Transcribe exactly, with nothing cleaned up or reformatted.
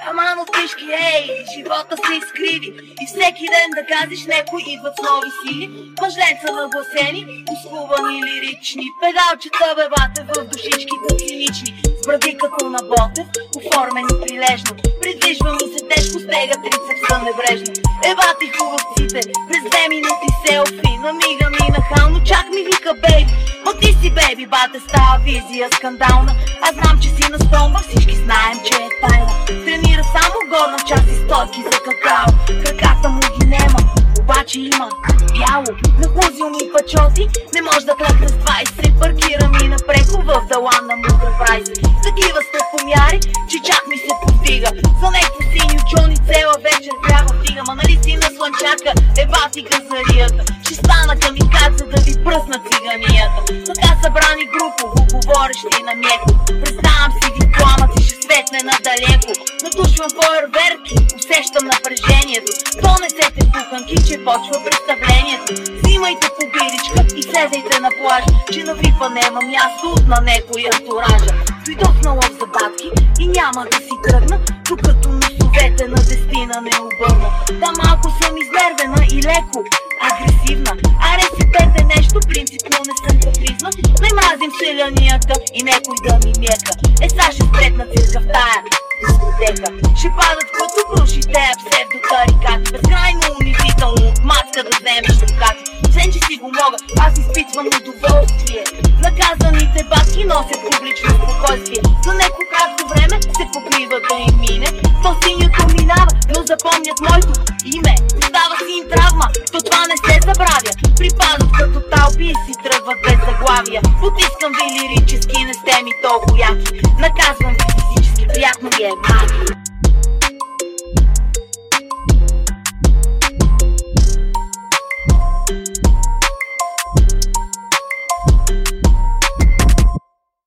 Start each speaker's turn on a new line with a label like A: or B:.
A: Аман от пишки, ей, живота се изкриви и всеки ден да газиш, некои идват с нови сили. Мъжленца нагласени, усхубани лирични, педалчета бебате в душичките цинични, с бради като на Ботев, оформени прилежно. Придвижва ми се тежко, стега трицепса небрежно. Ебати хубавците, през две минути селфи, намига ми нахално, чак ми вика бейби. Ма ти си бейби, бате, става визия скандална. Аз знам, че си на стомба, всички знаем, че е тайна. Тренира само горна част и стойки за какао. Краката му ги нема, обаче има бяло. Нахлузил ми пачоти, не може да клъкне с двайсет. Паркира ми напреко в дала на мудра прайс. Такива стъпомяри, че чак ми се повдига. За некво синьо чони цела вечер трябва вдига. Ма нали си на слънчака, ебати газарията. Ще стана камикадзе да ви пръсна циганията. Така събрани групово, говорещи на меко. Представям си ви пламък и ще светне надалеко. Натушвам фойерверки, усещам напрежението. Донесете куханки, че почва представлението. Взимайте по биричка и седайте на плажа, че на випа нема място на некои антуража. Дойдох на лов за батки и няма да си тръгна, докато носовете на дестина не обърна. Да, малко съм изнервена и леко агресивна. Аре си пете нещо, принципно не съм капризна. Не мазим селянията и некой да ми мека. Е, са ще спретна цирка в тая дискотека. Ще падат като круши тея псевдотарикати. Безкрайно унизително от мацка да вземеш ръкати. Сен, че си го мога, аз изпитвам удоволствие. Наказаните батки носят публично спокойствие. За неко кратко време се покрива да им мине. То синьото минава, но запомнят моето име. Става си им травма, то това не се забравя. Припадат като талпи и си тръгват без заглавия. Потискам ви лирически, не сте ми толкова яки. Наказвам ви физически, приятно ви е магия.